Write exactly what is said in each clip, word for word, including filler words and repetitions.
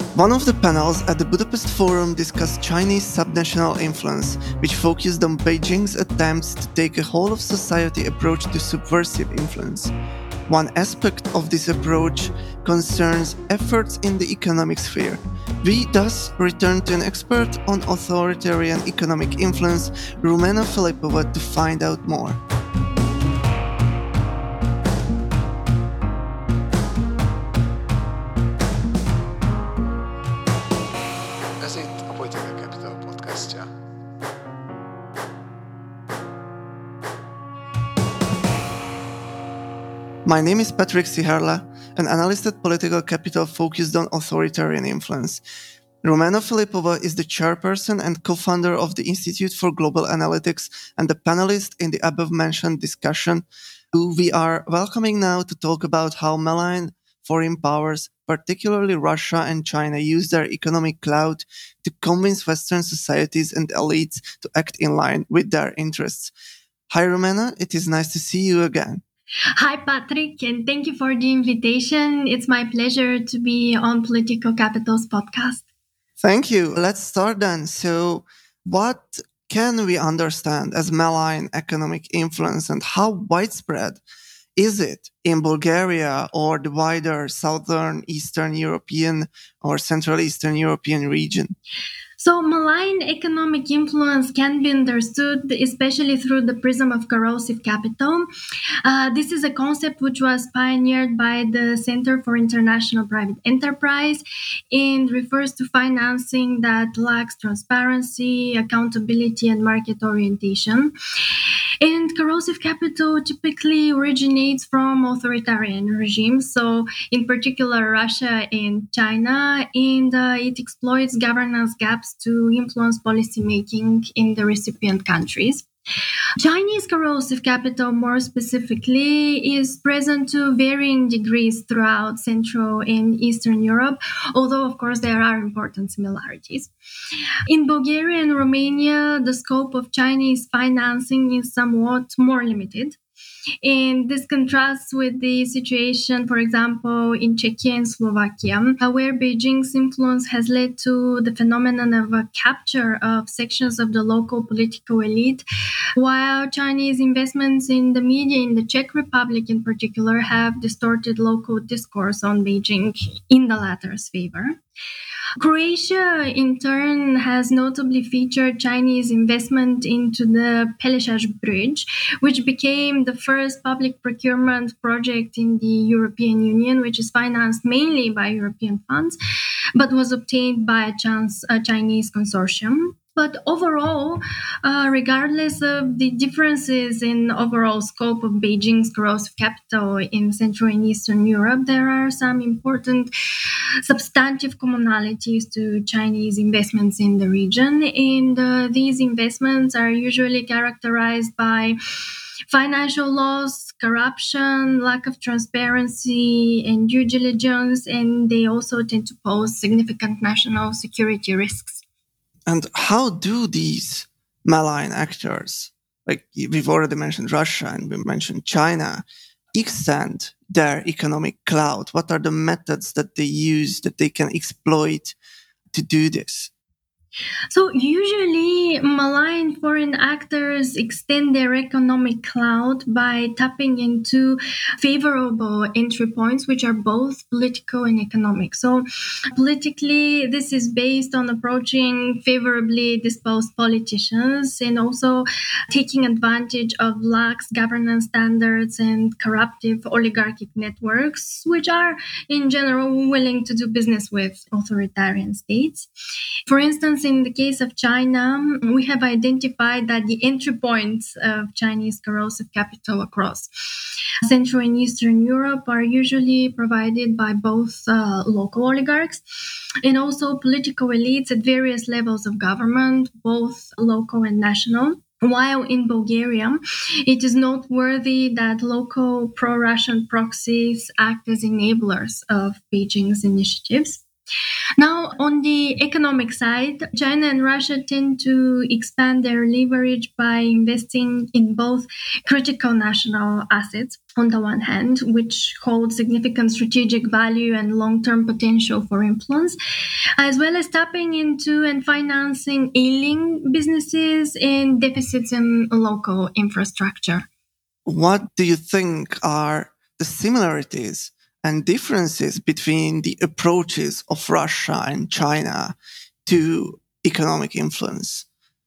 One of the panels at the Budapest Forum discussed Chinese subnational influence, which focused on Beijing's attempts to take a whole-of-society approach to subversive influence. One aspect of this approach concerns efforts in the economic sphere. We thus return to an expert on authoritarian economic influence, Rumena Filipova, to find out more. Ez itt a Political Capital podcastja. My name is Patrick Siharla, an analyst at Political Capital focused on authoritarian influence. Rumena Filipova is the chairperson and co-founder of the Institute for Global Analytics and the panelist in the above-mentioned discussion, who we are welcoming now to talk about how malign foreign powers, particularly Russia and China, use their economic clout to convince Western societies and elites to act in line with their interests. Hi, Rumena. It is nice to see you again. Hi, Patrick, and thank you for the invitation. It's my pleasure to be on Political Capital's podcast. Thank you. Let's start then. So, what can we understand as malign economic influence, and how widespread is it in Bulgaria or the wider Southern Eastern European or Central Eastern European region? So malign economic influence can be understood especially through the prism of corrosive capital. Uh, this is a concept which was pioneered by the Center for International Private Enterprise and refers to financing that lacks transparency, accountability, and market orientation. And corrosive capital typically originates from authoritarian regimes, so in particular Russia and China, and uh, it exploits governance gaps to influence policymaking in the recipient countries. Chinese corrosive capital, more specifically, is present to varying degrees throughout Central and Eastern Europe, although, of course, there are important similarities. In Bulgaria and Romania, the scope of Chinese financing is somewhat more limited. And this contrasts with the situation, for example, in Czechia and Slovakia, where Beijing's influence has led to the phenomenon of a capture of sections of the local political elite, while Chinese investments in the media in the Czech Republic in particular have distorted local discourse on Beijing in the latter's favor. Croatia, in turn, has notably featured Chinese investment into the Peleshaj Bridge, which became the first public procurement project in the European Union, which is financed mainly by European funds, but was obtained by a, chance, a Chinese consortium. But overall, uh, regardless of the differences in overall scope of Beijing's corrosive capital in Central and Eastern Europe, there are some important substantive commonalities to Chinese investments in the region. And uh, these investments are usually characterized by financial loss, corruption, lack of transparency, and due diligence, and they also tend to pose significant national security risks. And how do these malign actors, like we've already mentioned Russia and we mentioned China, extend their economic clout? What are the methods that they use that they can exploit to do this? So usually malign foreign actors extend their economic clout by tapping into favorable entry points, which are both political and economic. So politically, this is based on approaching favorably disposed politicians and also taking advantage of lax governance standards and corruptive oligarchic networks, which are in general willing to do business with authoritarian states. For instance, in the case of China, we have identified that the entry points of Chinese corrosive capital across Central and Eastern Europe are usually provided by both uh, local oligarchs and also political elites at various levels of government, both local and national. While in Bulgaria, it is noteworthy that local pro-Russian proxies act as enablers of Beijing's initiatives. Now, on the economic side, China and Russia tend to expand their leverage by investing in both critical national assets, on the one hand, which hold significant strategic value and long-term potential for influence, as well as tapping into and financing ailing businesses and deficits in local infrastructure. What do you think are the similarities and differences between the approaches of Russia and China to economic influence?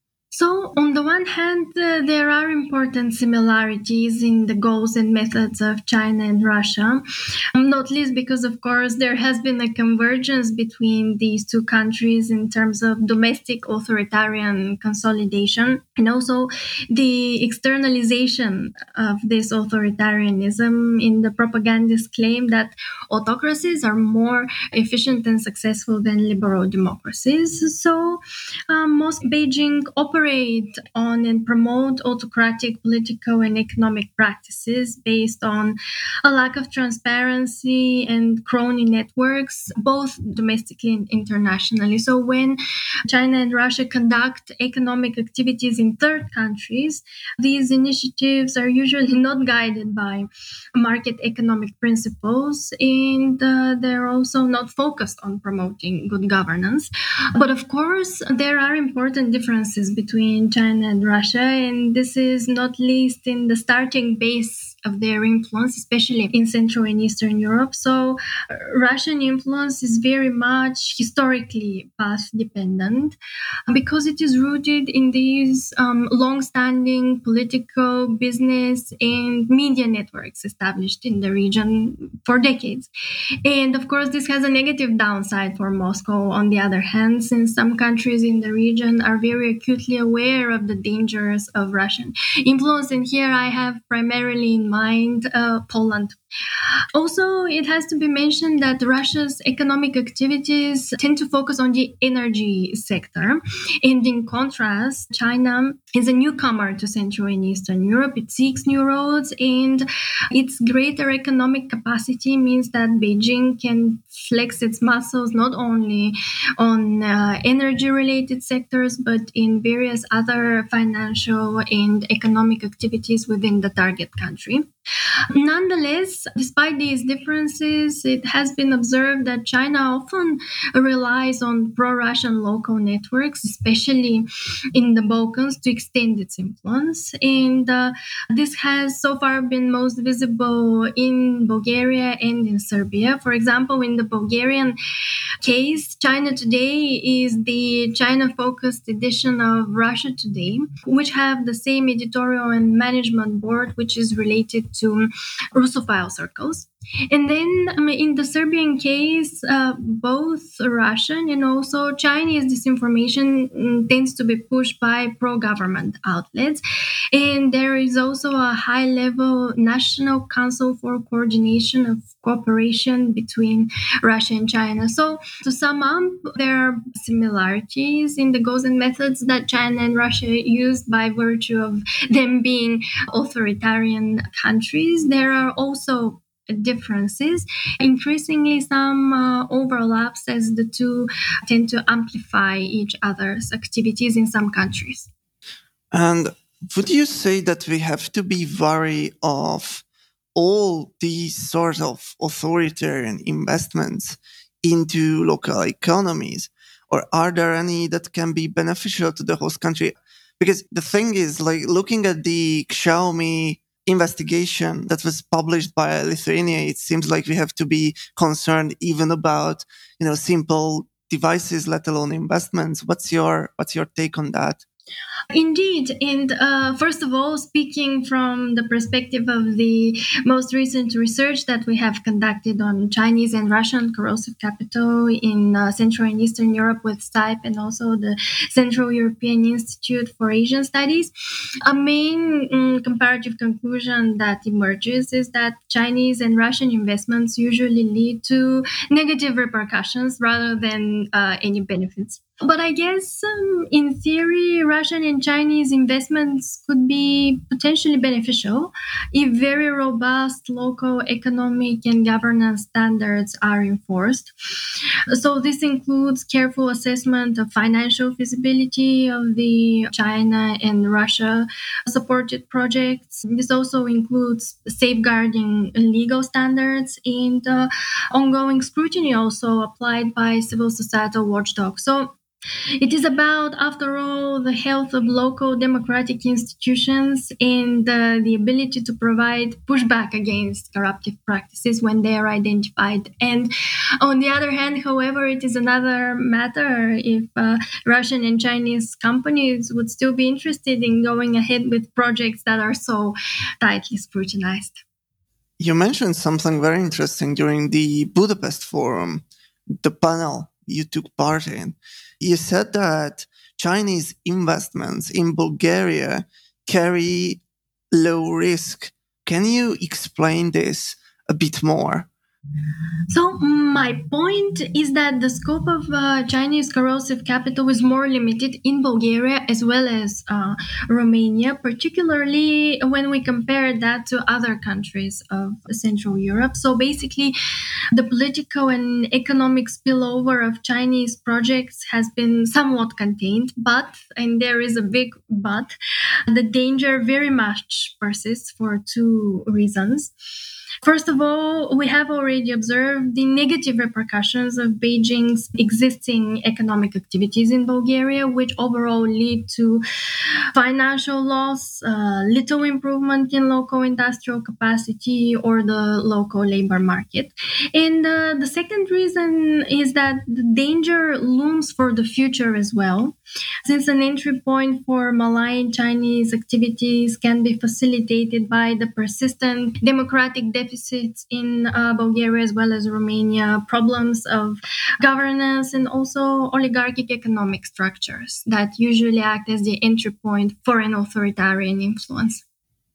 So, on the one hand, uh, there are important similarities in the goals and methods of China and Russia, um, not least because, of course, there has been a convergence between these two countries in terms of domestic authoritarian consolidation and also the externalization of this authoritarianism in the propagandist claim that autocracies are more efficient and successful than liberal democracies. So, um, most Beijing operates on and promote autocratic political and economic practices based on a lack of transparency and crony networks, both domestically and internationally. So when China and Russia conduct economic activities in third countries, these initiatives are usually not guided by market economic principles, and uh, they're also not focused on promoting good governance. But of course, there are important differences between between China and Russia, and this is not least in the starting base of their influence, especially in Central and Eastern Europe. So uh, Russian influence is very much historically path dependent because it is rooted in these um, long-standing political, business, and media networks established in the region for decades. And of course, this has a negative downside for Moscow, on the other hand, since some countries in the region are very acutely aware of the dangers of Russian influence. And here I have primarily in mind uh, Poland. Also, it has to be mentioned that Russia's economic activities tend to focus on the energy sector. And in contrast, China is a newcomer to Central and Eastern Europe. It seeks new roads, and its greater economic capacity means that Beijing can flex its muscles not only on uh, energy-related sectors, but in various other financial and economic activities within the target country. Nonetheless, despite these differences, it has been observed that China often relies on pro-Russian local networks, especially in the Balkans, to extend its influence. And uh, this has so far been most visible in Bulgaria and in Serbia. For example, in the Bulgarian case, China Today is the China-focused edition of Russia Today, which have the same editorial and management board, which is related to Russophile circles. And then um, in the Serbian case, uh, both Russian and also Chinese disinformation um, tends to be pushed by pro-government outlets. And there is also a high-level National Council for Coordination of Cooperation between Russia and China. So to sum up, there are similarities in the goals and methods that China and Russia use by virtue of them being authoritarian countries. There are also differences, increasingly some uh, overlaps as the two tend to amplify each other's activities in some countries. And would you say that we have to be wary of all these sort of authoritarian investments into local economies? Or are there any that can be beneficial to the host country? Because the thing is, like, looking at the Xiaomi investigation that was published by Lithuania, it seems like we have to be concerned even about, you know, simple devices, let alone investments. What's your what's your take on that? Indeed. And uh, first of all, speaking from the perspective of the most recent research that we have conducted on Chinese and Russian corrosive capital in uh, Central and Eastern Europe with S T Y P and also the Central European Institute for Asian Studies, a main um, comparative conclusion that emerges is that Chinese and Russian investments usually lead to negative repercussions rather than uh, any benefits. But I guess um, in theory, Russian and Chinese investments could be potentially beneficial if very robust local economic and governance standards are enforced. So this includes careful assessment of financial feasibility of the China and Russia supported projects. This also includes safeguarding legal standards and uh, ongoing scrutiny also applied by civil societal watchdogs. So it is about, after all, the health of local democratic institutions and uh, the ability to provide pushback against corruptive practices when they are identified. And on the other hand, however, it is another matter if uh, Russian and Chinese companies would still be interested in going ahead with projects that are so tightly scrutinized. You mentioned something very interesting during the Budapest Forum, the panel you took part in. You said that Chinese investments in Bulgaria carry low risk. Can you explain this a bit more? So my point is that the scope of uh, Chinese corrosive capital is more limited in Bulgaria as well as uh, Romania, particularly when we compare that to other countries of Central Europe. So basically, the political and economic spillover of Chinese projects has been somewhat contained, but, and there is a big but, the danger very much persists for two reasons. First of all, we have already observed the negative repercussions of Beijing's existing economic activities in Bulgaria, which overall lead to financial loss, uh, little improvement in local industrial capacity or the local labor market. And uh, the second reason is that the danger looms for the future as well, since an entry point for Malayan Chinese activities can be facilitated by the persistent democratic deficits in uh, Bulgaria as well as Romania, problems of governance, and also oligarchic economic structures that usually act as the entry point for an authoritarian influence.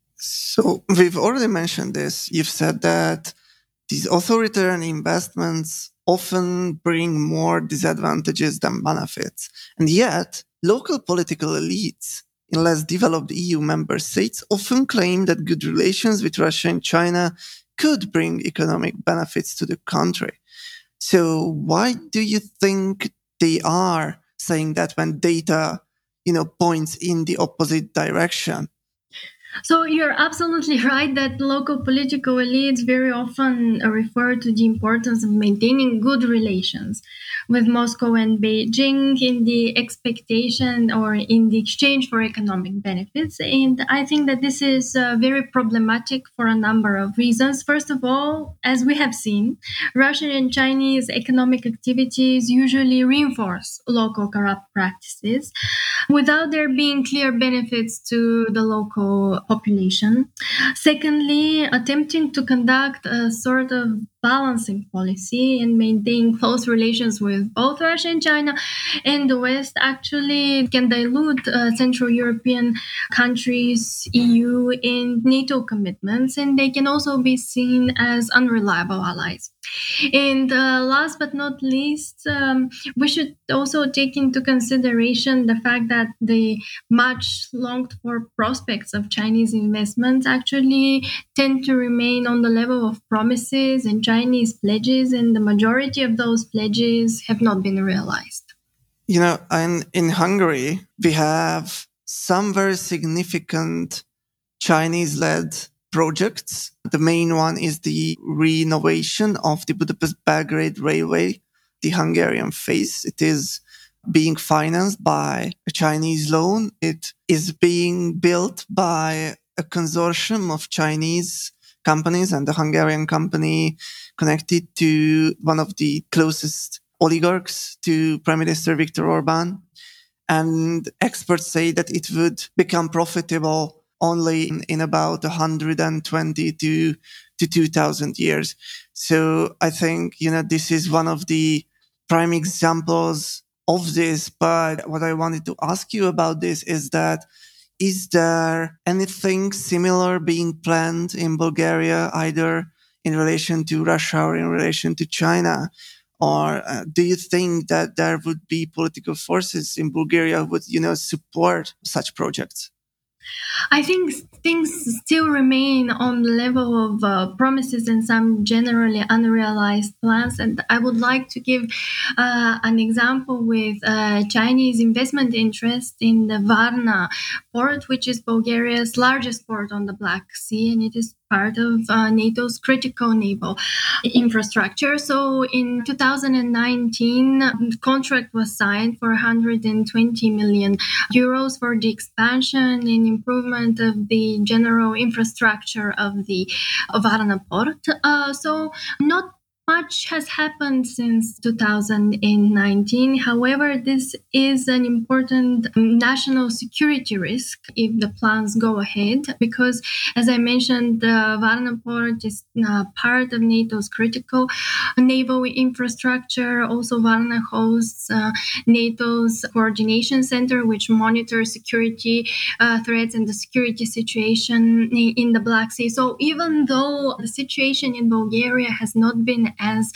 So we've already mentioned this. You've said that these authoritarian investments often bring more disadvantages than benefits. And yet, local political elites in less developed E U member states often claim that good relations with Russia and China could bring economic benefits to the country. So why do you think they are saying that when data, you know, points in the opposite direction? So you're absolutely right that local political elites very often refer to the importance of maintaining good relations with Moscow and Beijing in the expectation or in the exchange for economic benefits. And I think that this is uh, very problematic for a number of reasons. First of all, as we have seen, Russian and Chinese economic activities usually reinforce local corrupt practices without there being clear benefits to the local population. Secondly, attempting to conduct a sort of balancing policy and maintain close relations with both Russia and China and the West actually can dilute uh, Central European countries, E U, and NATO commitments, and they can also be seen as unreliable allies. And uh, last but not least, um, we should also take into consideration the fact that the much longed for prospects of Chinese investments actually tend to remain on the level of promises and Chinese pledges, and the majority of those pledges have not been realized. You know, in, in Hungary, we have some very significant Chinese-led projects. The main one is the renovation of the Budapest-Belgrade Railway, the Hungarian phase. It is being financed by a Chinese loan. It is being built by a consortium of Chinese companies and the Hungarian company connected to one of the closest oligarchs to Prime Minister Viktor Orban. And experts say that it would become profitable only in, in about one hundred twenty to, to two thousand years. So I think, you know, this is one of the prime examples of this. But what I wanted to ask you about this is that, is there anything similar being planned in Bulgaria, either in relation to Russia or in relation to China? Or uh, do you think that there would be political forces in Bulgaria who would, you know, support such projects? I think things still remain on the level of uh, promises and some generally unrealized plans. And I would like to give uh, an example with uh, Chinese investment interest in the Varna port, which is Bulgaria's largest port on the Black Sea, and it is part of uh, NATO's critical naval infrastructure. So in two thousand nineteen, the contract was signed for one hundred twenty million euros for the expansion and improvement of the general infrastructure of the Varna port. Uh, so not much has happened since two thousand nineteen. However, this is an important national security risk if the plans go ahead, because, as I mentioned, the Varna port is uh, part of NATO's critical naval infrastructure. Also, Varna hosts uh, NATO's coordination center, which monitors security uh, threats and the security situation in the Black Sea. So even though the situation in Bulgaria has not been as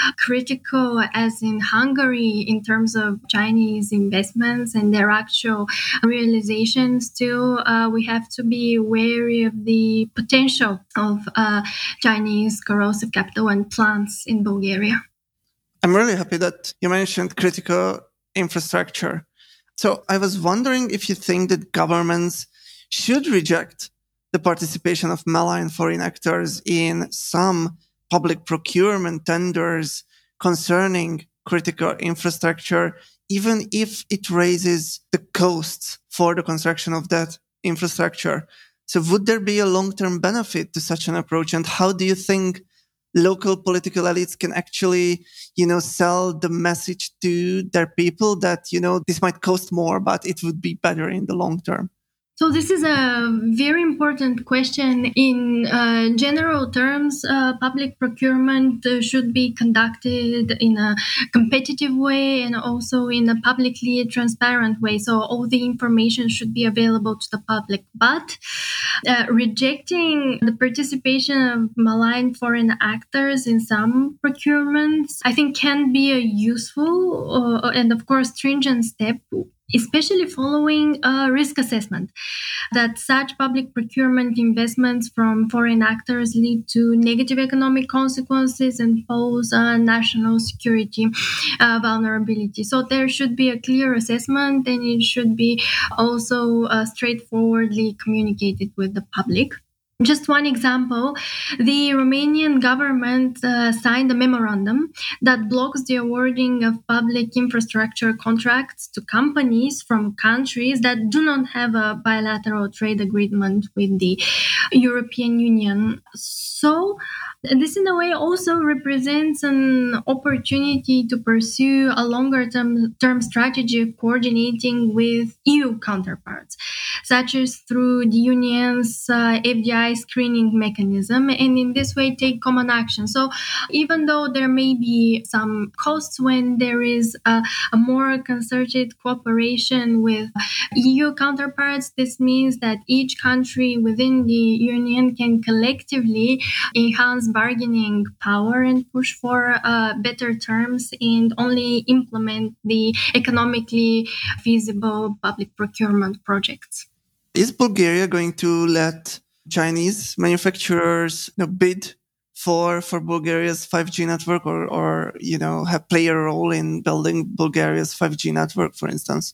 critical as in Hungary in terms of Chinese investments and their actual realization, still uh, we have to be wary of the potential of uh, Chinese corrosive capital and plants in Bulgaria. I'm really happy that you mentioned critical infrastructure. So I was wondering if you think that governments should reject the participation of malign foreign actors in some public procurement tenders concerning critical infrastructure, even if it raises the costs for the construction of that infrastructure. So would there be a long-term benefit to such an approach? And how do you think local political elites can actually, you know, sell the message to their people that, you know, this might cost more, but it would be better in the long term? So this is a very important question. In uh, general terms, uh, public procurement uh, should be conducted in a competitive way and also in a publicly transparent way. So all the information should be available to the public. But uh, rejecting the participation of malign foreign actors in some procurements, I think, can be a useful uh, and, of course, stringent step, especially following a risk assessment that such public procurement investments from foreign actors lead to negative economic consequences and pose a national security uh, vulnerability. So there should be a clear assessment, and it should be also uh, straightforwardly communicated with the public. Just one example, the Romanian government uh, signed a memorandum that blocks the awarding of public infrastructure contracts to companies from countries that do not have a bilateral trade agreement with the European Union. So this, in a way, also represents an opportunity to pursue a longer term, term strategy of coordinating with E U counterparts, such as through the Union's uh, F D I screening mechanism, and in this way take common action. So even though there may be some costs when there is a, a more concerted cooperation with E U counterparts, this means that each country within the Union can collectively enhance bargaining power and push for uh, better terms and only implement the economically feasible public procurement projects. Is Bulgaria going to let Chinese manufacturers, you know, bid for for Bulgaria's five G network, or, or you know, have play a role in building Bulgaria's five G network, for instance?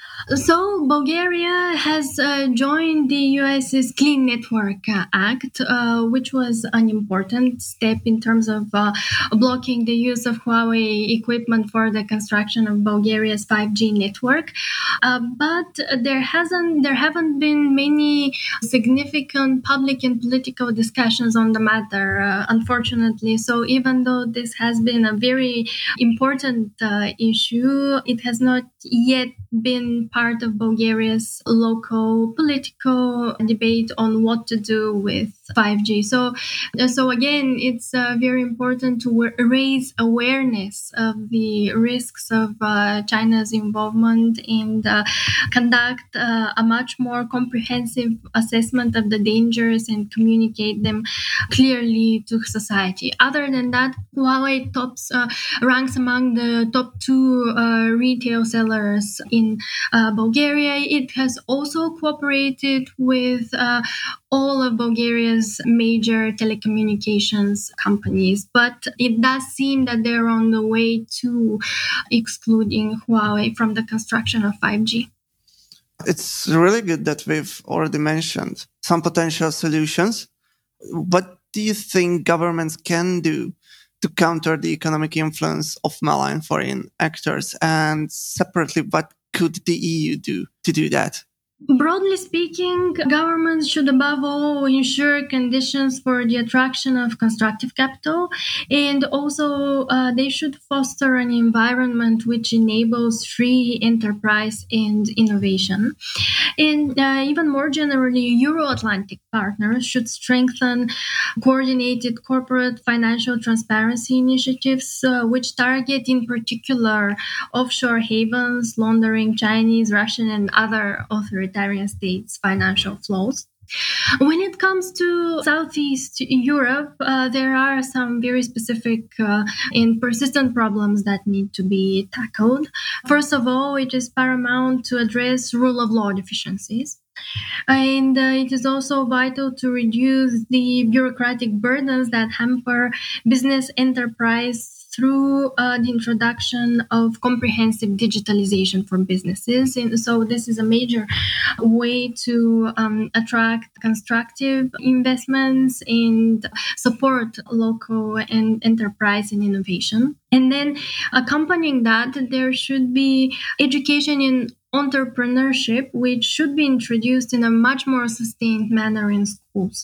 So Bulgaria has uh, joined the U S's Clean Network uh, Act, uh, which was an important step in terms of uh, blocking the use of Huawei equipment for the construction of Bulgaria's five G network. Uh, but there hasn't, there haven't been many significant public and political discussions on the matter, uh, unfortunately. So even though this has been a very important uh, issue, it has not yet been part of Bulgaria's local political debate on what to do with five G. So, so again, it's uh, very important to w- raise awareness of the risks of uh, China's involvement and uh, conduct uh, a much more comprehensive assessment of the dangers and communicate them clearly to society. Other than that, Huawei tops uh, ranks among the top two uh, retail sellers in uh, Bulgaria. It has also cooperated with uh, all of Bulgaria's major telecommunications companies, but it does seem that they're on the way to excluding Huawei from the construction of five G. It's really good that we've already mentioned some potential solutions. What do you think governments can do to counter the economic influence of malign foreign actors? And separately, what could the E U do to do that? Broadly speaking, governments should above all ensure conditions for the attraction of constructive capital, and also uh, they should foster an environment which enables free enterprise and innovation. And uh, even more generally, Euro-Atlantic partners should strengthen coordinated corporate financial transparency initiatives, uh, which target in particular offshore havens, laundering Chinese, Russian, and other authoritarian states' financial flows. When it comes to Southeast Europe, uh, there are some very specific uh, and persistent problems that need to be tackled. First of all, it is paramount to address rule of law deficiencies. And uh, it is also vital to reduce the bureaucratic burdens that hamper business enterprise through uh, the introduction of comprehensive digitalization for businesses. And so this is a major way to um, attract constructive investments and support local and enterprise and innovation. And then accompanying that, there should be education in entrepreneurship, which should be introduced in a much more sustained manner in schools.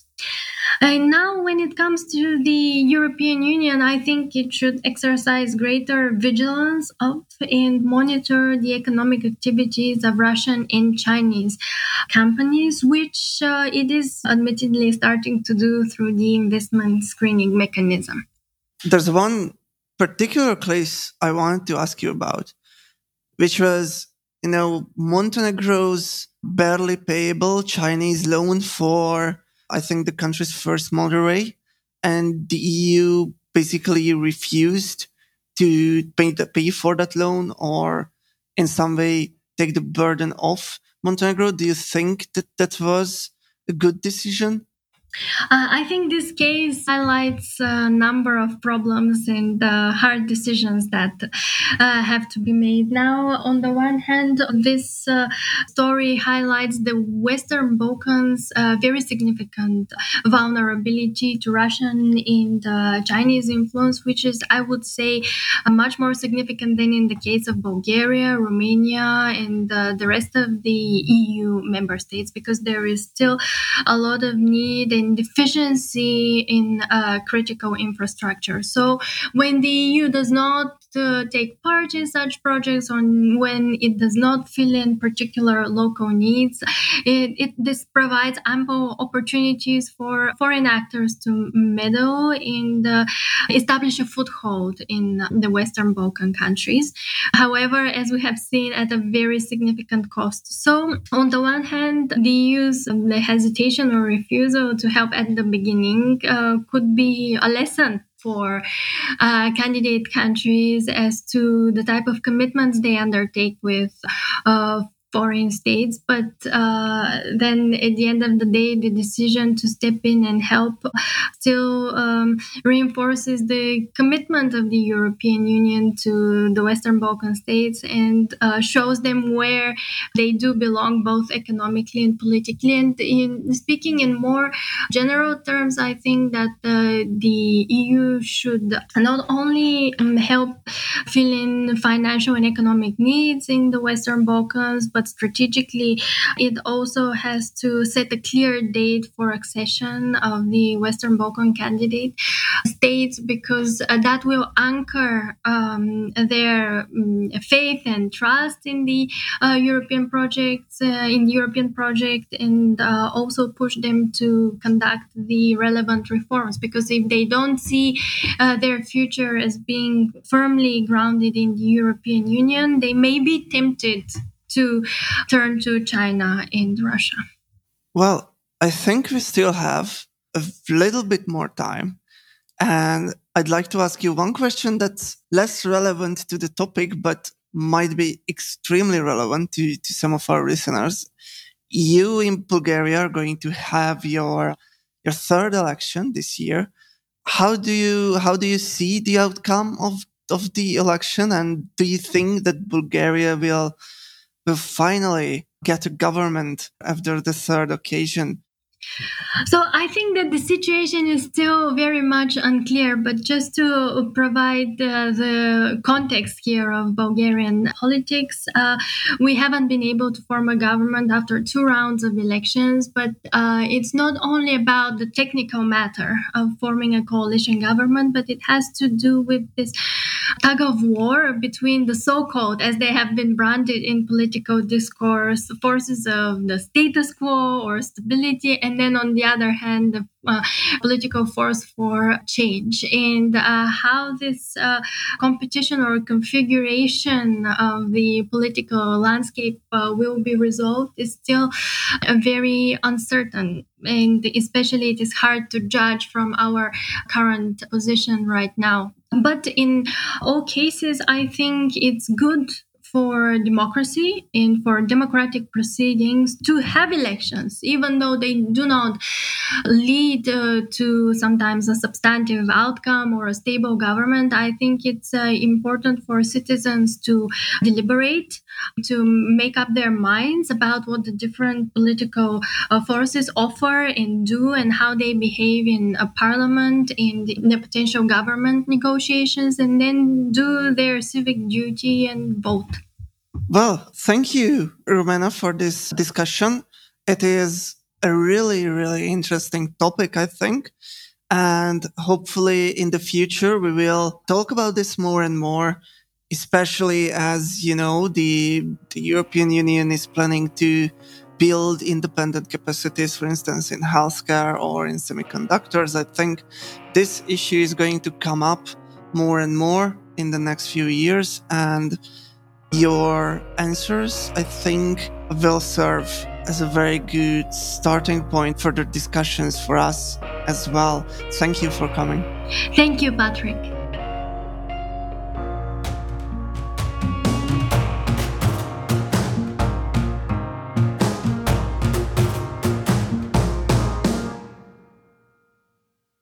And now, when it comes to the European Union, I think it should exercise greater vigilance of and monitor the economic activities of Russian and Chinese companies, which uh, it is admittedly starting to do through the investment screening mechanism. There's one particular case I wanted to ask you about, which was, you know, Montenegro's barely payable Chinese loan for, I think, the country's first motorway, and the E U basically refused to pay, the, pay for that loan or in some way take the burden off Montenegro. Do you think that that was a good decision? Uh, I think this case highlights a number of problems and uh, hard decisions that uh, have to be made. Now, on the one hand, this uh, story highlights the Western Balkans' uh, very significant vulnerability to Russian and uh, Chinese influence, which is, I would say, uh, much more significant than in the case of Bulgaria, Romania, and uh, the rest of the E U member states, because there is still a lot of need and deficiency in uh, critical infrastructure. So when the E U does not uh, take part in such projects, or when it does not fill in particular local needs, it, it this provides ample opportunities for foreign actors to meddle and uh, establish a foothold in the Western Balkan countries. However, as we have seen, at a very significant cost. So on the one hand, the E U's the hesitation or refusal to help at the beginning uh, could be a lesson for uh, candidate countries as to the type of commitments they undertake with uh, foreign states. But uh, then at the end of the day, the decision to step in and help still um, reinforces the commitment of the European Union to the Western Balkan states and uh, shows them where they do belong, both economically and politically. And in speaking in more general terms, I think that uh, the E U should not only um, help fill in financial and economic needs in the Western Balkans, but but strategically, it also has to set a clear date for accession of the Western Balkan candidate states, because uh, that will anchor um, their um, faith and trust in the uh, European projects, uh, in the European project, and uh, also push them to conduct the relevant reforms. Because if they don't see uh, their future as being firmly grounded in the European Union, they may be tempted to turn to China and Russia. Well, I think we still have a little bit more time. And I'd like to ask you one question that's less relevant to the topic, but might be extremely relevant to, to some of our listeners. You in Bulgaria are going to have your your third election this year. How do you how do you see the outcome of, of the election? And do you think that Bulgaria will will finally get a government after the third occasion? So I think that the situation is still very much unclear, but just to provide uh, the context here of Bulgarian politics, uh, we haven't been able to form a government after two rounds of elections, but uh, it's not only about the technical matter of forming a coalition government, but it has to do with this tug of war between the so-called, as they have been branded in political discourse, forces of the status quo or stability, and then on the other hand, the uh, political force for change. And uh, how this uh, competition or configuration of the political landscape uh, will be resolved is still uh, very uncertain. And especially it is hard to judge from our current position right now. But in all cases, I think it's good for democracy and for democratic proceedings to have elections, even though they do not lead uh, to sometimes a substantive outcome or a stable government. I think it's uh, important for citizens to deliberate, to make up their minds about what the different political uh, forces offer and do, and how they behave in a parliament, in the, in the potential government negotiations, and then do their civic duty and vote. Well, thank you, Rumena, for this discussion. It is a really, really interesting topic, I think. And hopefully in the future, we will talk about this more and more, especially as, you know, the, the European Union is planning to build independent capacities, for instance, in healthcare or in semiconductors. I think this issue is going to come up more and more in the next few years. And your answers, I think, will serve as a very good starting point for the discussions for us as well. Thank you for coming. Thank you, Patrick.